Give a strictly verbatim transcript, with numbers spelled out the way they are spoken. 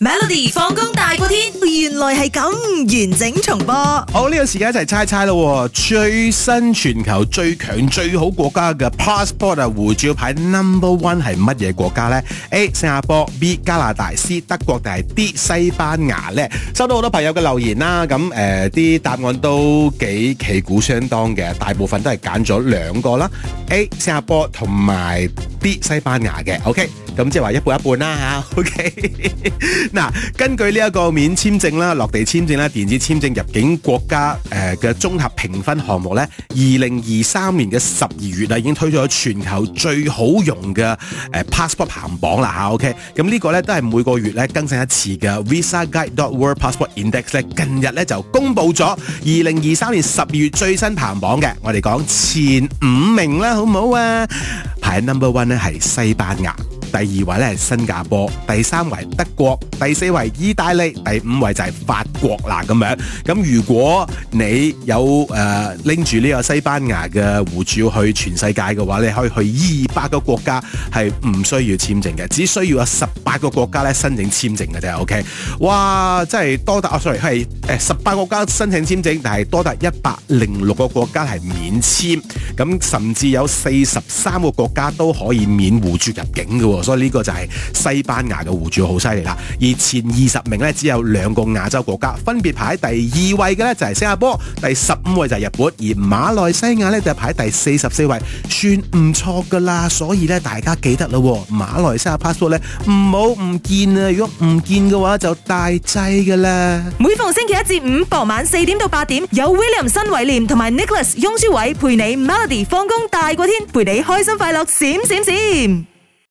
Melody 放工大過天，原來係咁完整重播。 好，呢個時間一齊猜猜咯。最新全球最強最好國家嘅 passport 啊，護照牌 number one 係乜嘢國家呢？ A 新加坡， B 加拿大， C 德國定係 D 西班牙呢？收到好多朋友嘅留言啦，咁誒啲答案都幾旗鼓相當嘅，大部分都係揀咗兩個啦 ，A 新加坡同埋 D 西班牙嘅。OK， 咁即係話一半一半啦吓。OK， 嗱，根據呢一個免簽證啦、落地簽證啦、電子簽證入境國家誒嘅綜合評分項目咧，二零二三年嘅十二月啊，已經推咗全球最好用嘅誒 passport 排行榜啦吓。OK， 咁呢個咧都係每個月咧更新一次嘅 Visa Guide dot World Passport Index 咧，近日咧就公布咗二零二三年十二月最新排行榜嘅，我哋講前五名啦，好唔好啊？排 number one 咧係西班牙。第二位咧係新加坡，第三位德國，第四位意大利，第五位就係法國啦咁樣。咁如果你有誒拎住呢個西班牙嘅護照去全世界嘅話，你可以去二百個國家係唔需要簽證嘅，只需要有十八個國家咧申請簽證嘅啫。OK， 哇，真係多達啊 ，sorry 係誒十八個國家申請簽證，但係多達一百零六個國家係免簽，咁甚至有四十三個國家都可以免護照入境嘅喎。所以呢個就係西班牙嘅護照好犀利啦，而前二十名咧只有兩個亞洲國家，分別排喺第二位嘅咧就係新加坡，第十五位就係日本，而馬來西亞咧就排第四十四位，算唔錯噶啦。所以咧大家記得咯，馬來西亞 passport 咧唔好唔見啊，如果唔見嘅話就大劑噶啦。 每逢星期一至五傍晚四點到八點，有 William 新偉廉同埋 Nicholas 雍舒偉陪你 Melody 放工大過天，陪你開心快樂閃閃閃。